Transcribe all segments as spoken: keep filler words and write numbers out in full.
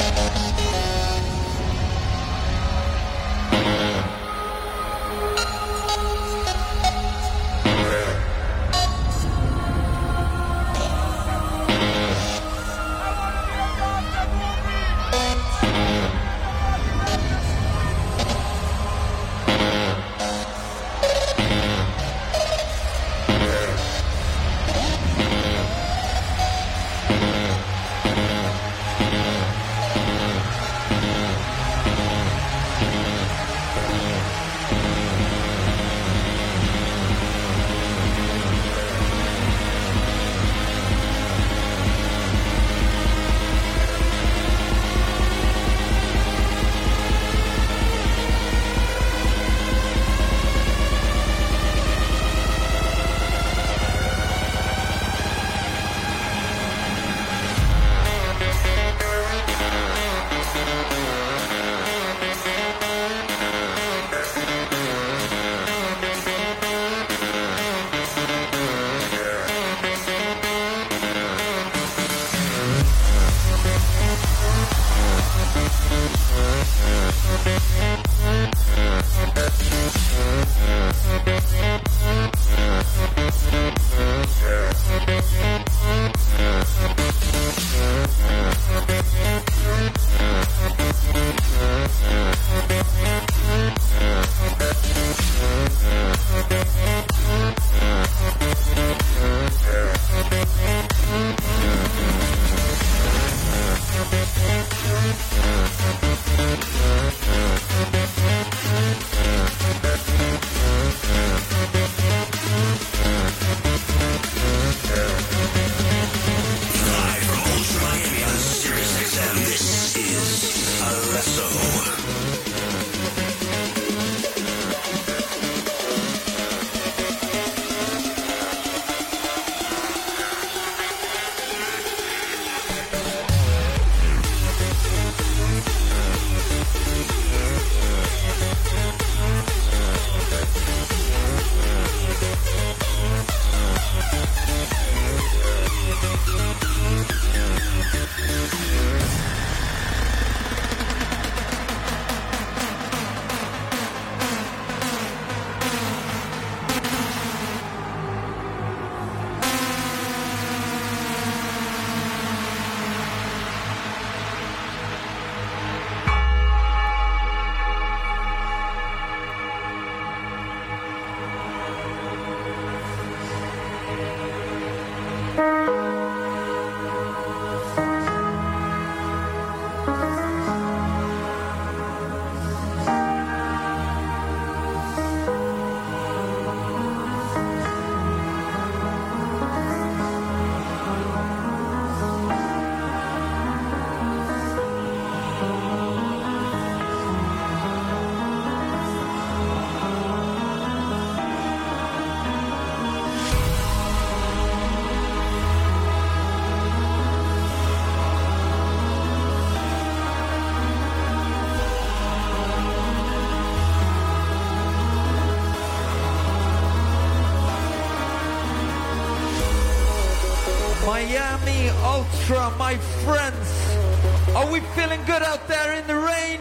Miami Ultra, my friends. Are we feeling good out there in the rain?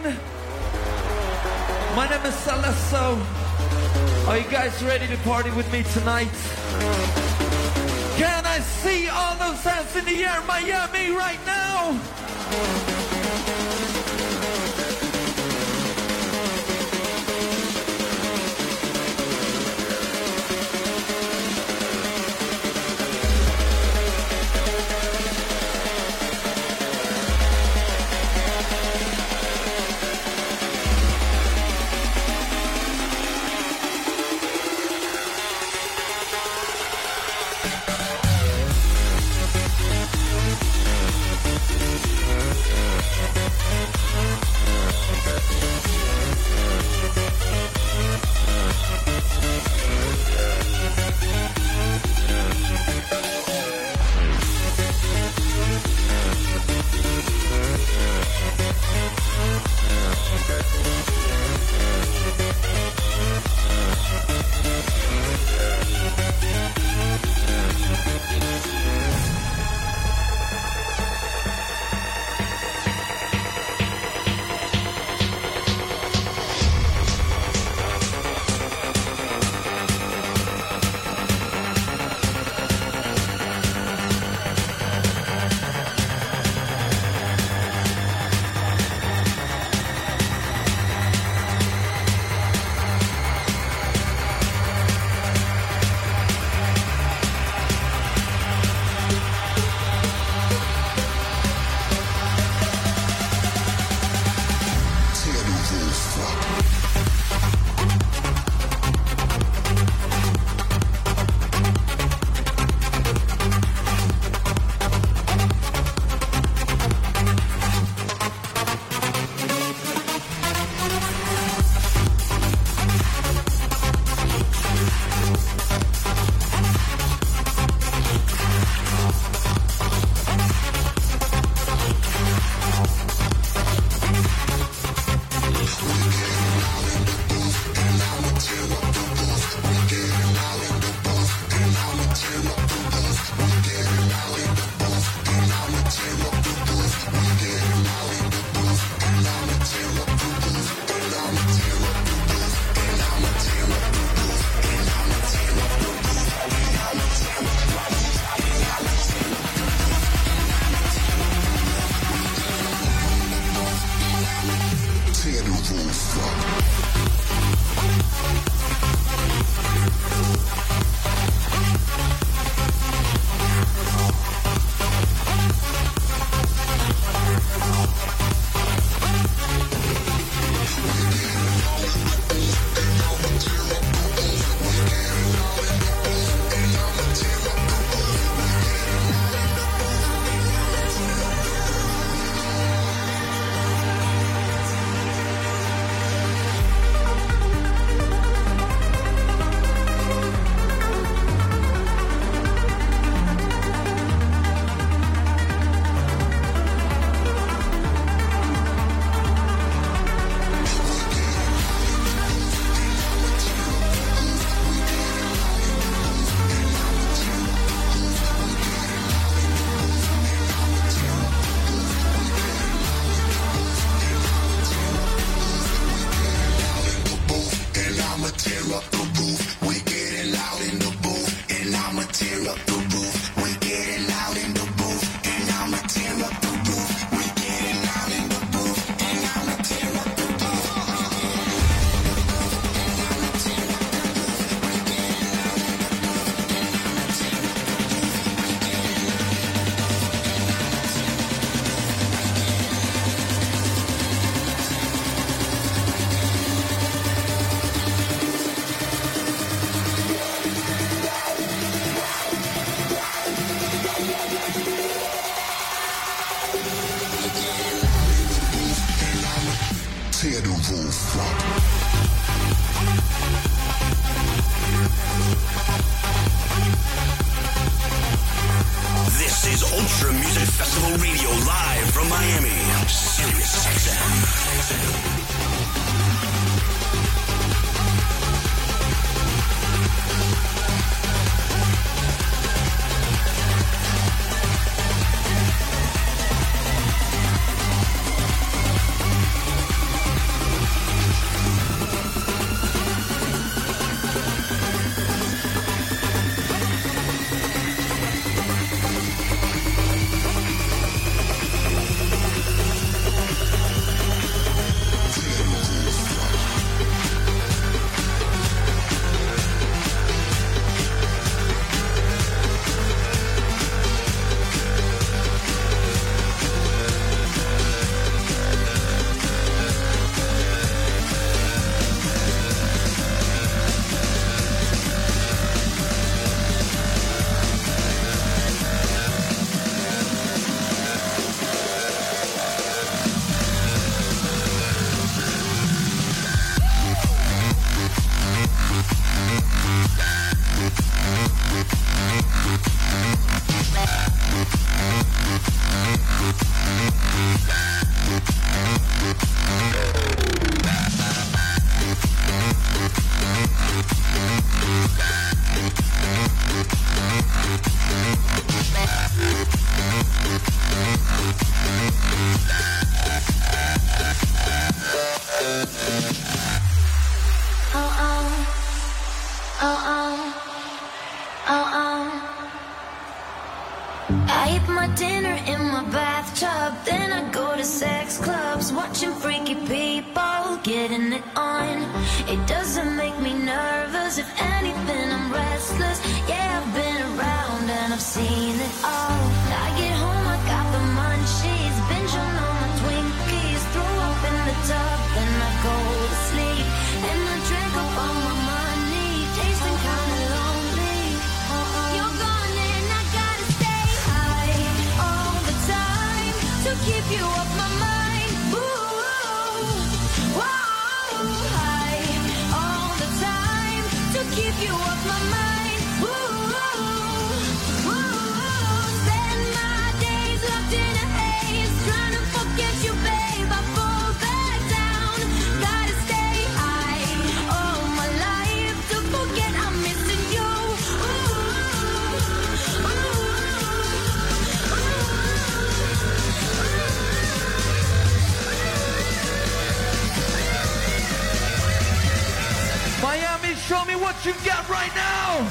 My name is Salesso. Are you guys ready to party with me tonight? Can I see all those hands in the air, Miami, right now? Yeah. Tear the roof up. This is Ultra Music Festival Radio live from Miami, Sirius X M. You got right now.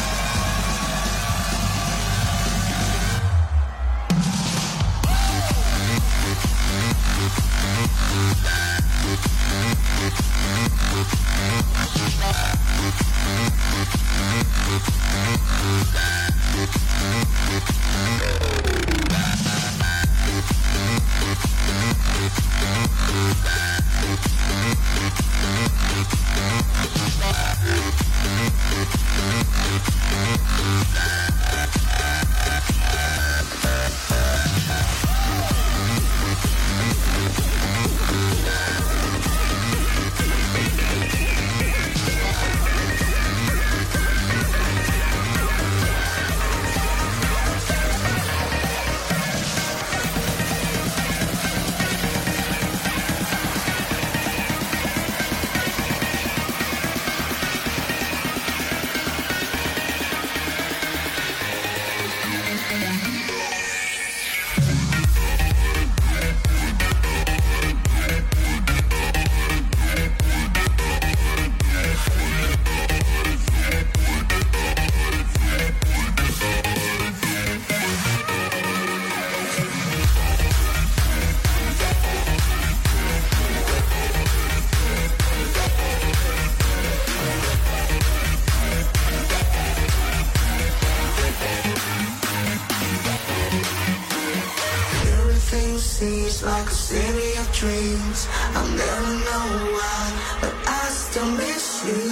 seems like a city of dreams. I'll never know why, but I still miss you.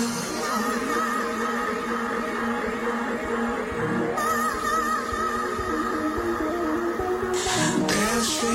There's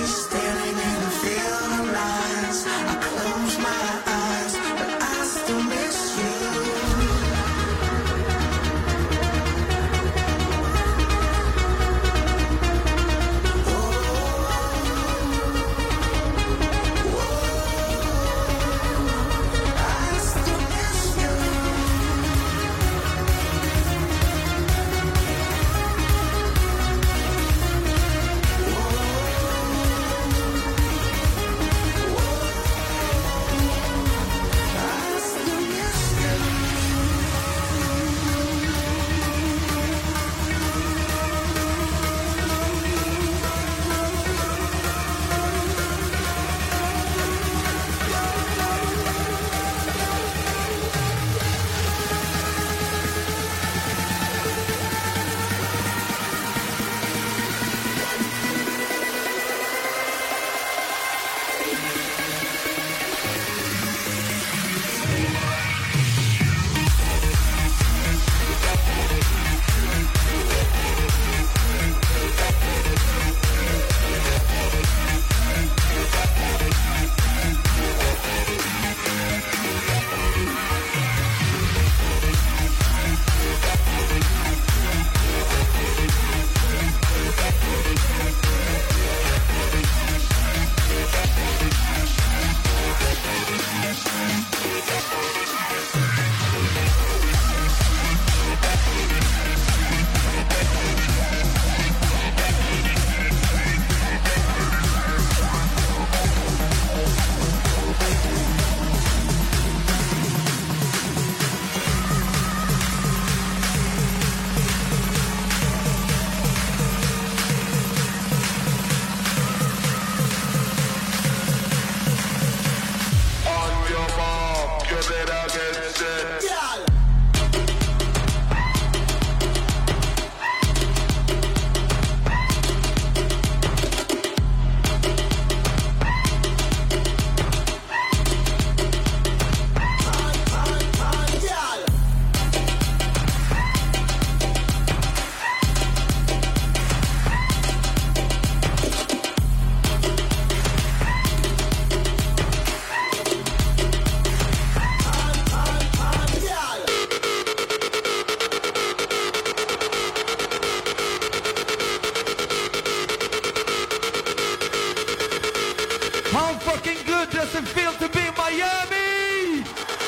How fucking good does it feel to be in Miami?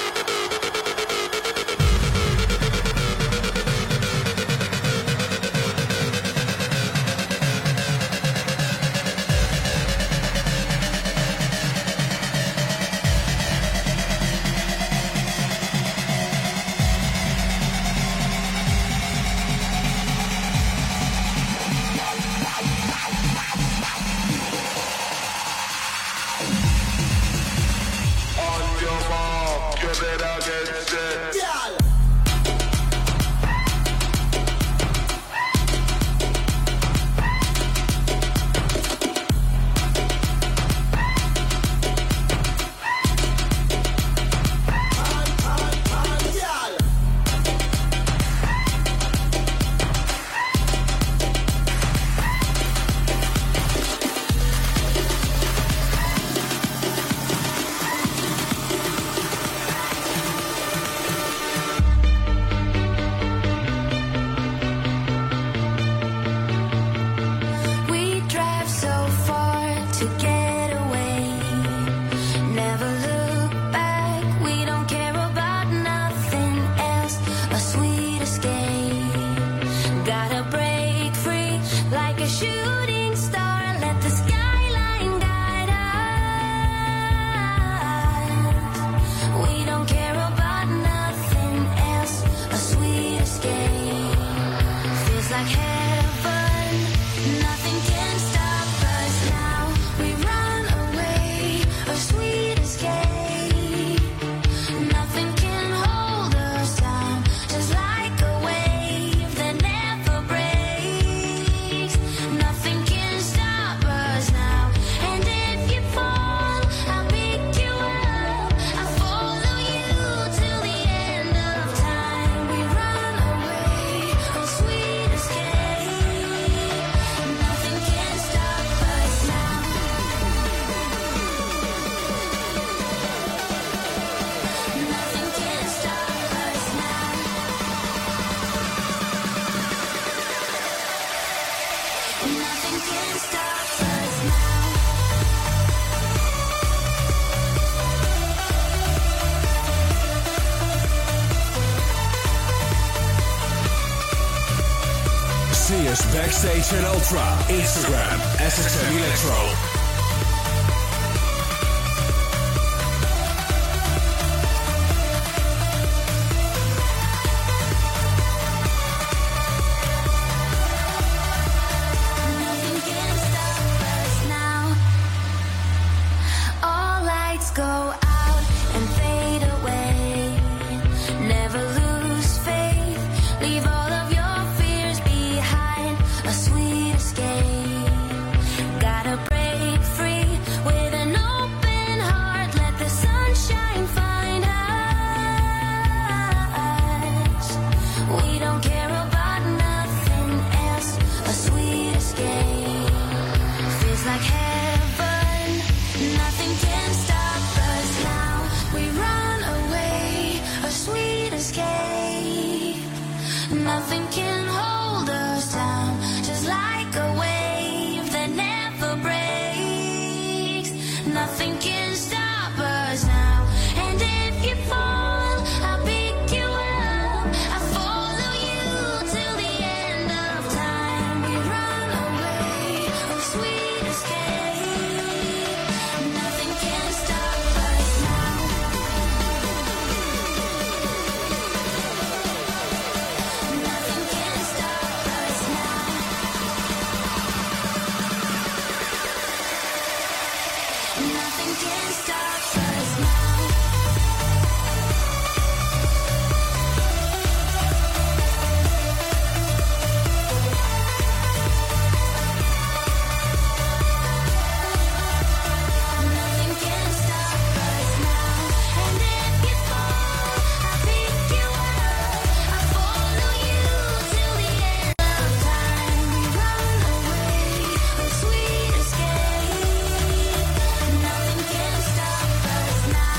See us backstage at Ultra, Instagram, S X M Electro. Nothing can hold us down, just like a wave that never breaks. Nothing can stop us now, and if you fall, I'll pick you up. I'll follow you till the end of time. We run away, oh sweet escape. Nothing can stop us now. Nothing can stop us now. Nothing can stop us now. Nothing can stop us now. And if you fall, I'll pick you up. I'll follow you till the end of time. We run away, oh sweet escape. Nothing can stop us now.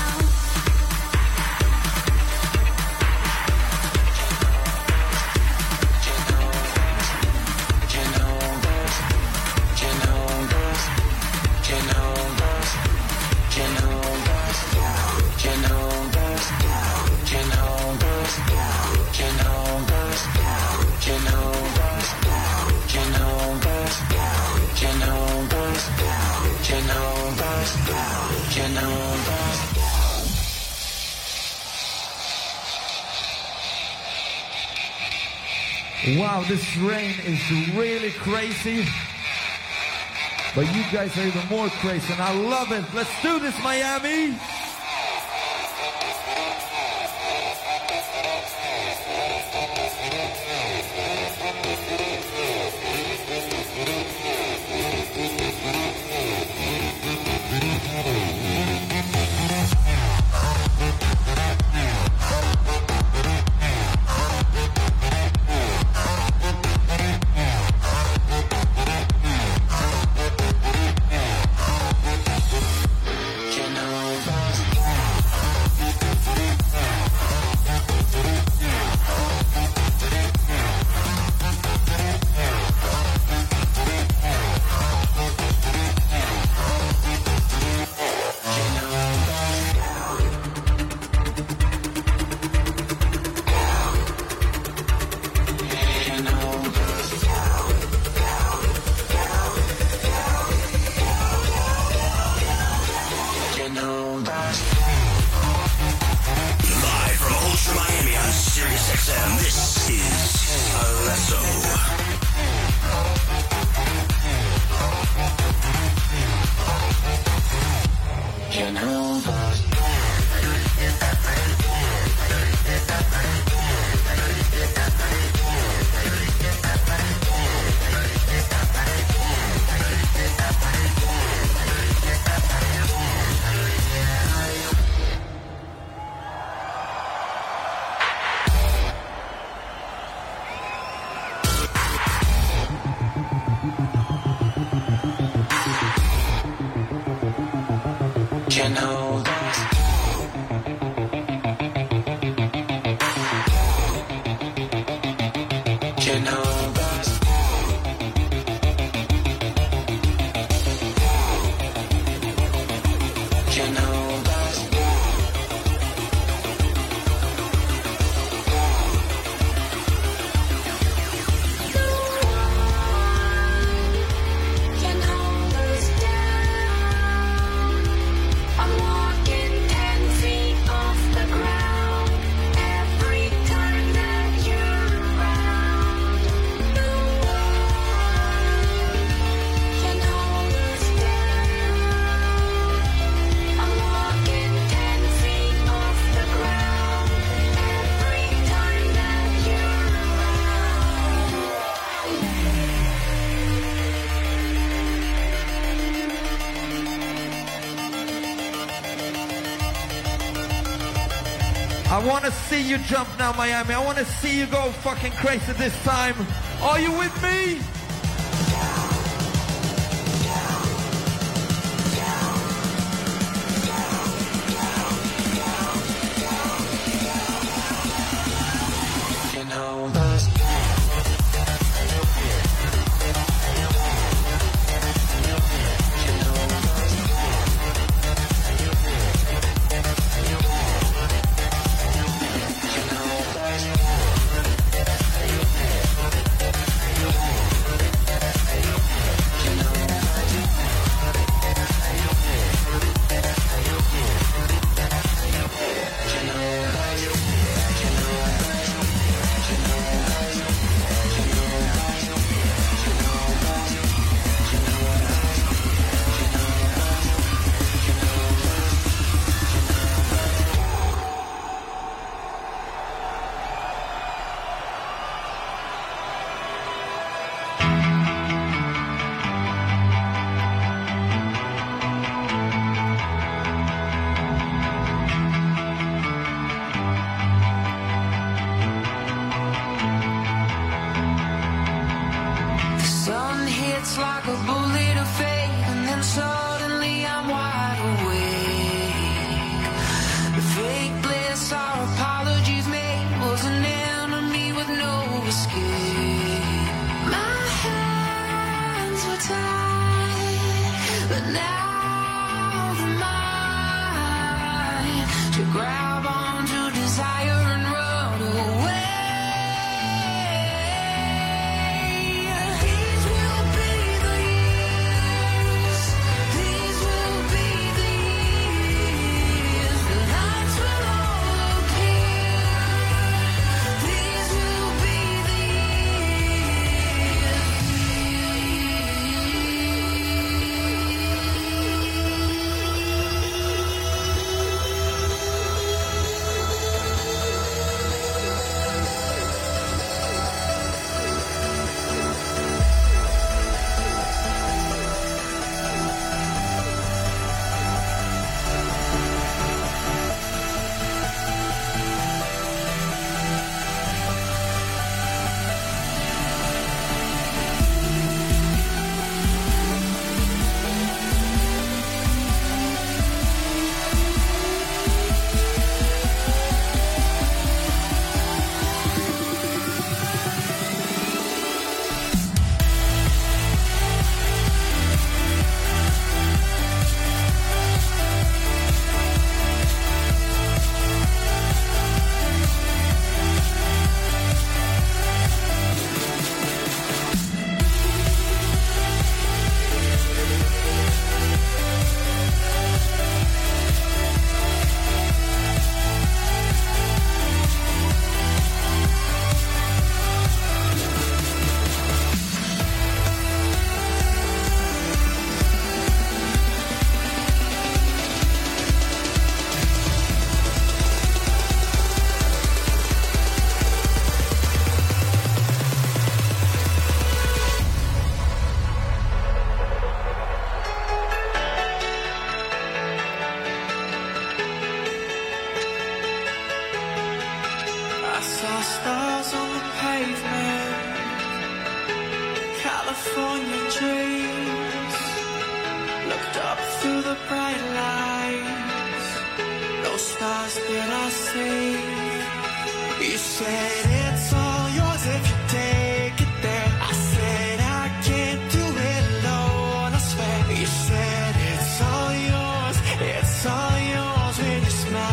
Wow, this rain is really crazy. But you guys are even more crazy, and I love it. Let's do this, Miami! I want to see you jump now, Miami. I want to see you go fucking crazy this time. Are you with me? You know those These will be the years. These safe. You said it's all yours if you take it there. I said I can't do it alone, I swear. You said it's all yours, it's all yours when you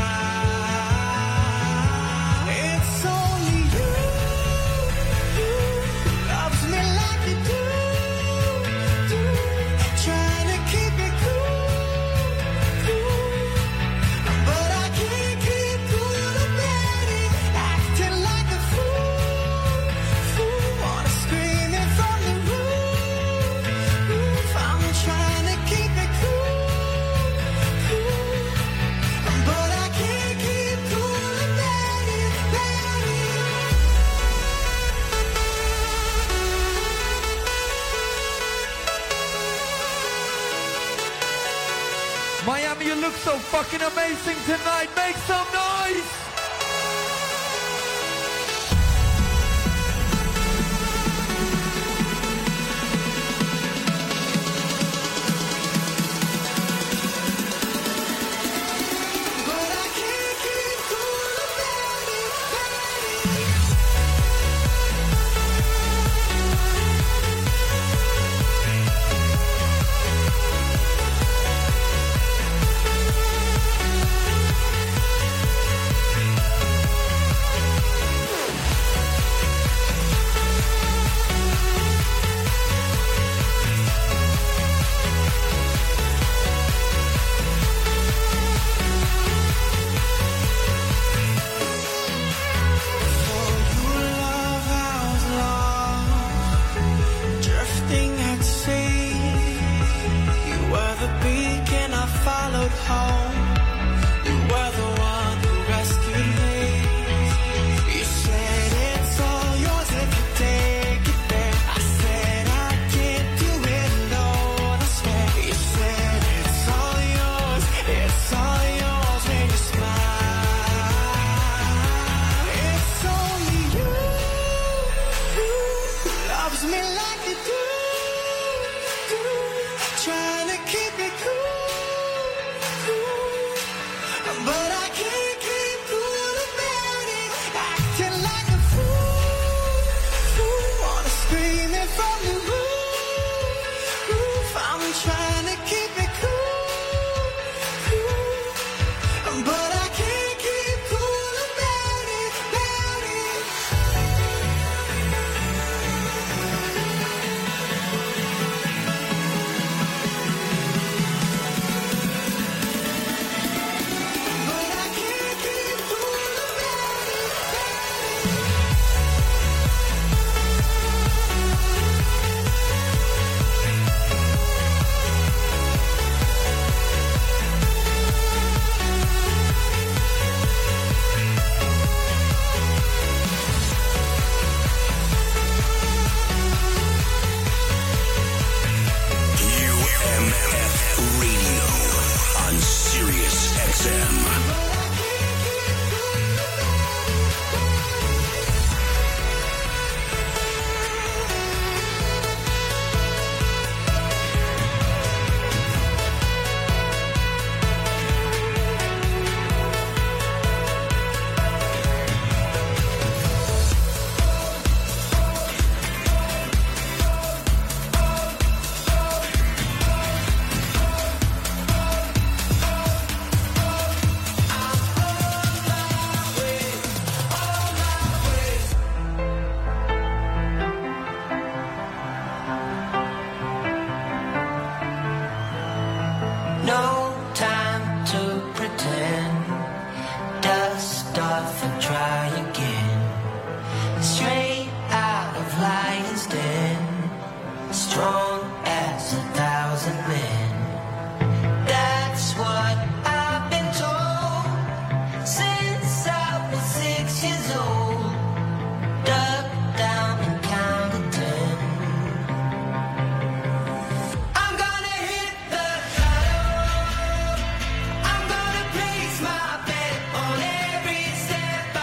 smile. It's only you who loves me like you do, do. Trying to keep it cool, cool. But I can't keep cool about it. Acting like a fool, fool. Wanna scream it from the roof, roof. I'm trying to keep it cool, cool. But I can't keep cool about it, about it. Miami, you look so fucking amazing tonight. Make some noise. But I can't keep cool about it, about it. For your love I was lost, drifting at sea. You were the beacon I followed home. You were the one who rescued me. You said it's all yours if you take it there. I said I can't do it alone, I swear. You said it's all yours, it's all yours when you smile. It's only you who loves me like you do, do. Trying to keep it cool, cool. But I can't keep cool about it. Acting like a fool, fool. Wanna scream it from the roof, roof. I'm trying to keep it cool, cool. But I can't keep cool about it, about it. But I can't keep cool about it, about it. U M F Radio on Sirius X M. No time to pretend. Dust off and try again. Straight out of Lion's Den. Strong as a thousand men. That's what I've been told since I was six years old. Duck down and count to ten. I'm gonna hit the lotto. I'm gonna place my bet on every step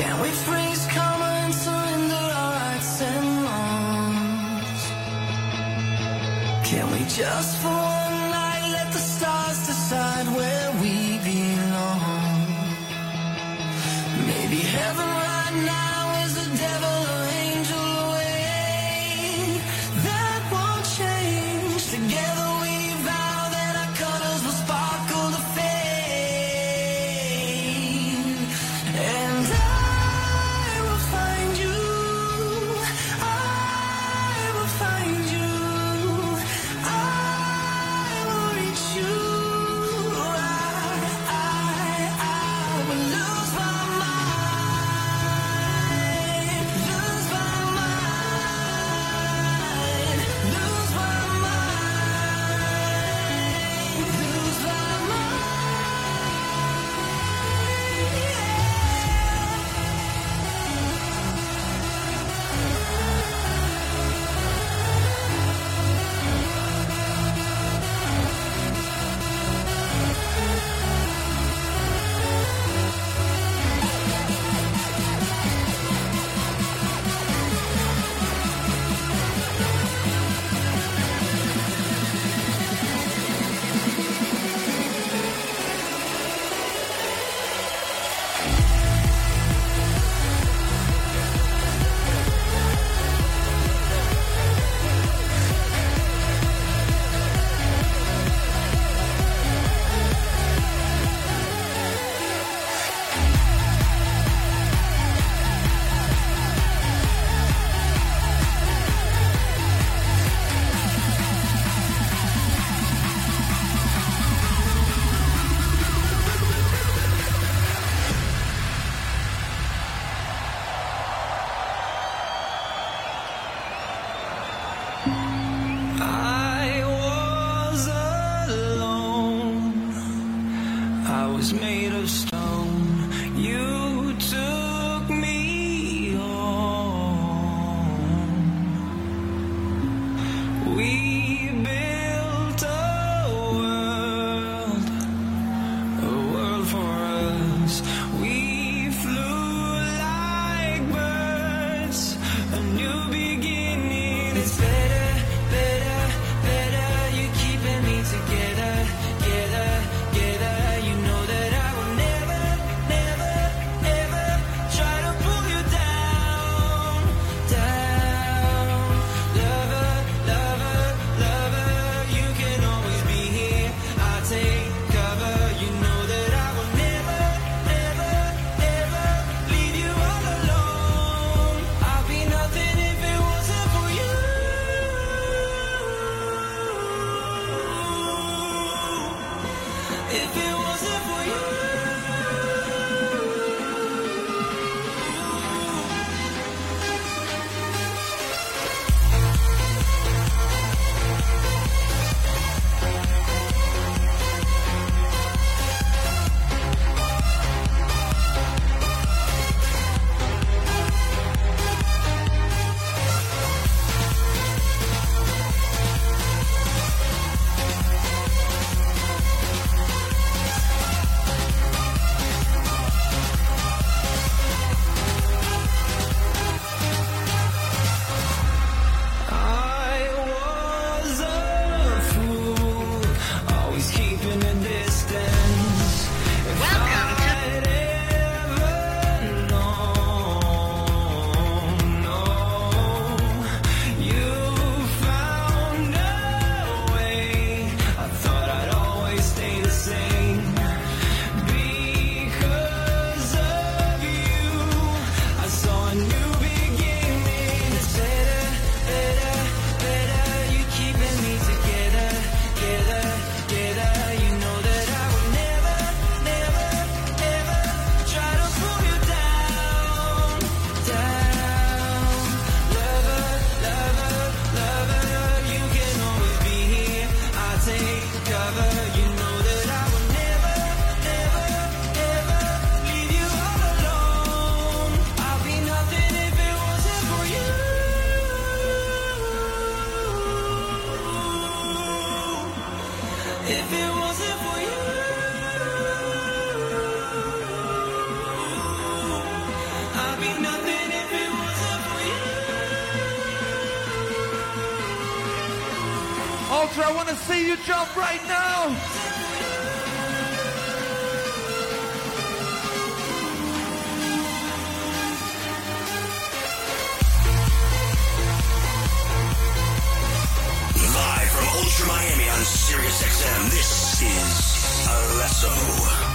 Can we freeze, karma, and surrender our rights and wrongs? Can we just for one night let the stars decide where we belong? Maybe heaven right now is a devil or angel away. That won't change. Together we vow that our colors will sparkle to fade. And I will find you. I will find you. I will reach you. I, I, I will lose my mind. Lose my mind. Lose my mind. Lose my mind. I was alone. I was made of stone. You took me home. We built a world, a world for us. We flew like birds, a new beginning. It's better, better, better. You're keeping me together, together, together. You know that I will never, never, ever try to pull you down, down. Lover, lover, lover. You can always be here. I'll take cover. You know that I will never, never, ever leave you all alone. I'll be nothing if it wasn't for you. If it wasn't for you. I was a fool, always keeping a distance. Welcome to I'd ever known, no, you found a way. I thought I'd always stay the same. Because of you, I saw a new beginning. It's better, better, better. You're keeping me together, together, together. You know that I will never, never, ever try to pull you down, down. Lover, lover, lover. You can always be here. I'll take cover. You know that I will never, never, ever leave you all alone. I'll be nothing if it wasn't for you. If it wasn't for you, I Ultra, I want to see you jump right now. Live from Ultra Miami on Sirius X M, this is Alesso.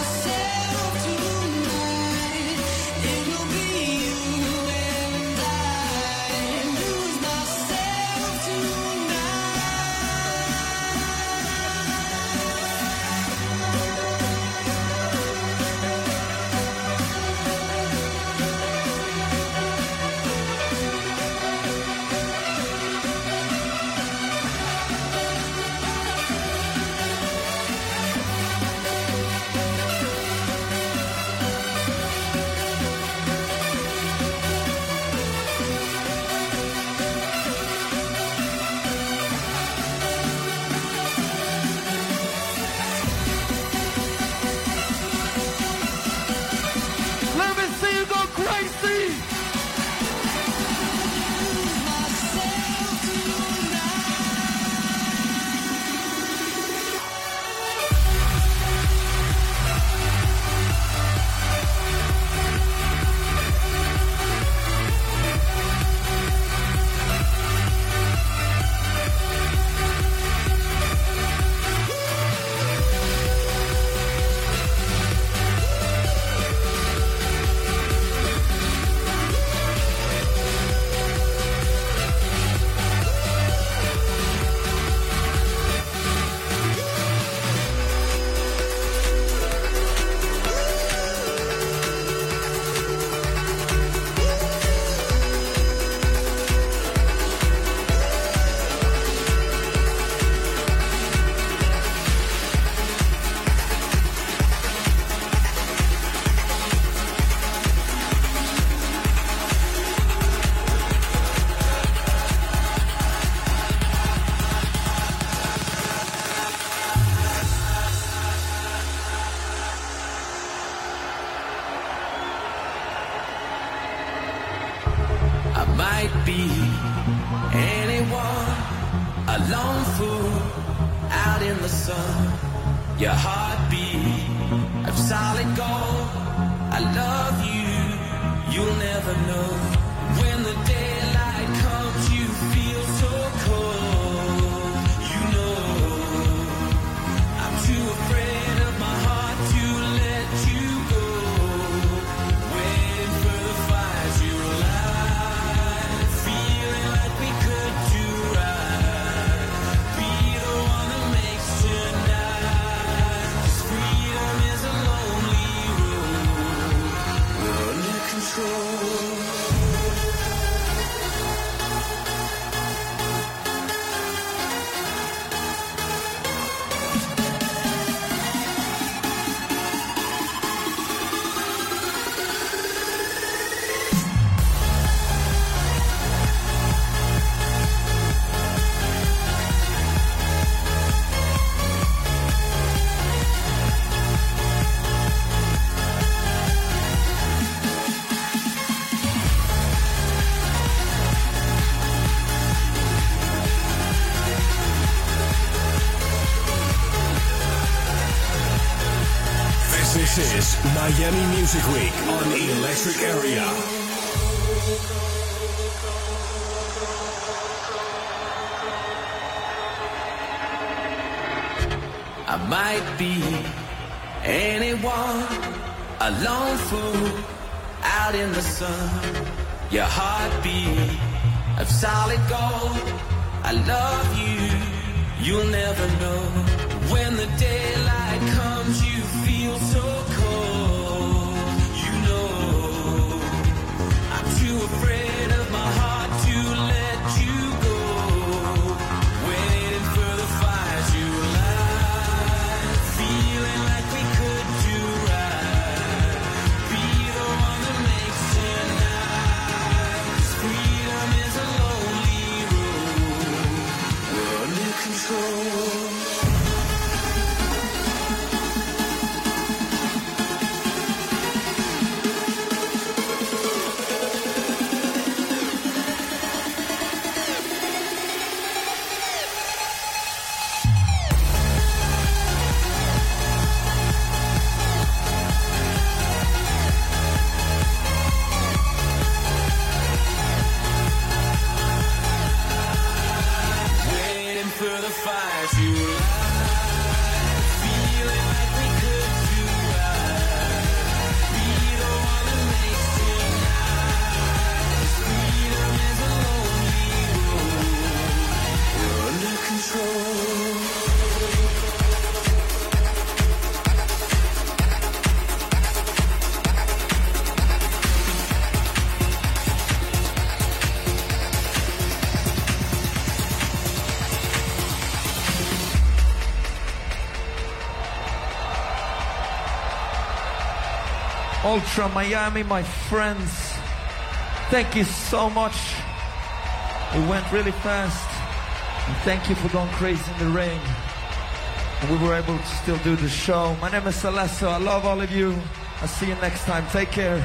It'll be you and I. lone fool out in the sun. Your heartbeat of solid gold. I love you, you'll never know. When the daylight comes, you feel so cold. You know, I'm too afraid of my heart to let you go. Waiting for the fires you light, feeling like we could do right. Be the one that makes tonight. 'Cause freedom is a lonely road. We're under control. This is Miami Music Week on Electric Area. I might be anyone, a lone fool out in the sun. Your heartbeat of solid gold. I love you, you'll never know. When the daylight comes, you feel so cold. You know, I'm too afraid of my heart to let you go. Waiting for the fires you light, feeling like we could do right. Be the one that makes tonight. 'Cause freedom is a lonely road. We're under control. Ultra Miami, my friends, thank you so much. It went really fast. And thank you for going crazy in the rain. And we were able to still do the show. My name is Celeste. I love all of you. I'll see you next time. Take care.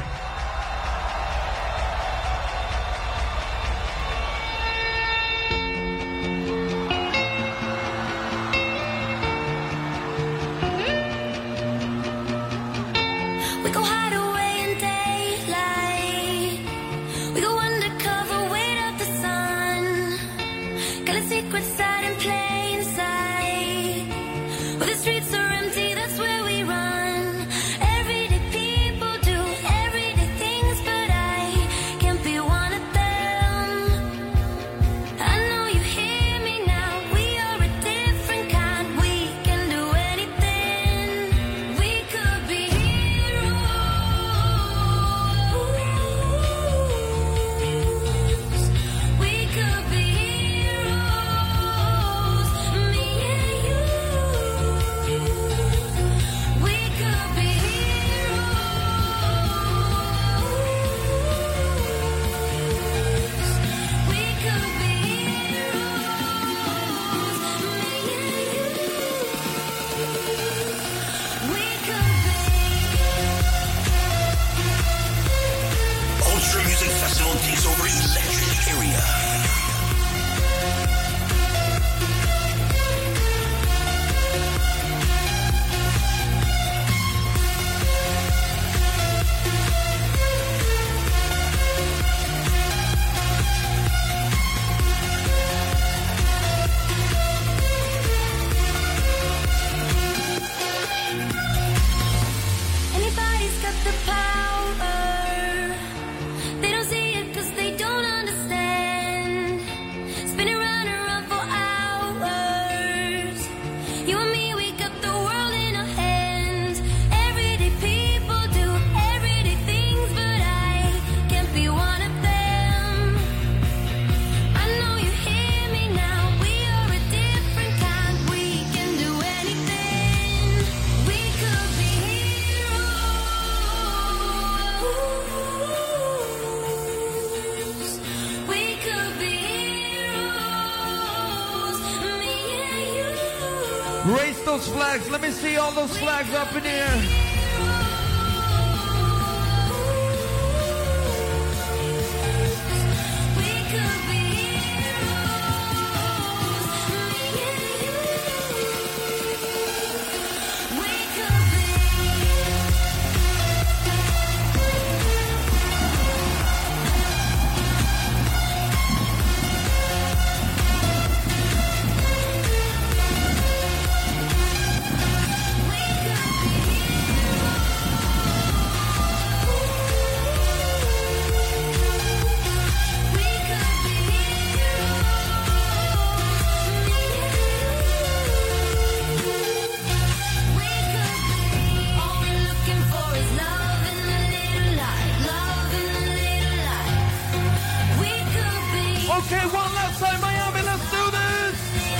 We go hide away in daylight. We go undercover, wait out the sun. Got a secret side in plain sight. Where the streets are empty, that's where we run. Everyday people do everyday Raise those flags. Let me see all those flags up in here. Okay, one last time, Miami, let's do this!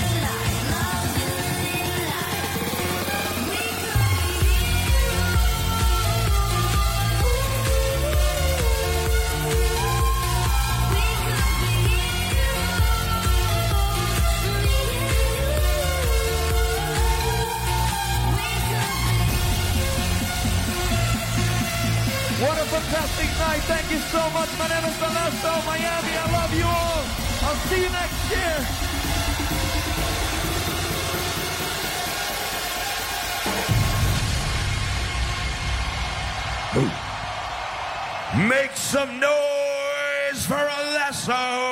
What a fantastic night. Thank you so much. My name is Valesto, Miami. I love you all. I'll see you next year. Make some noise for Alesso.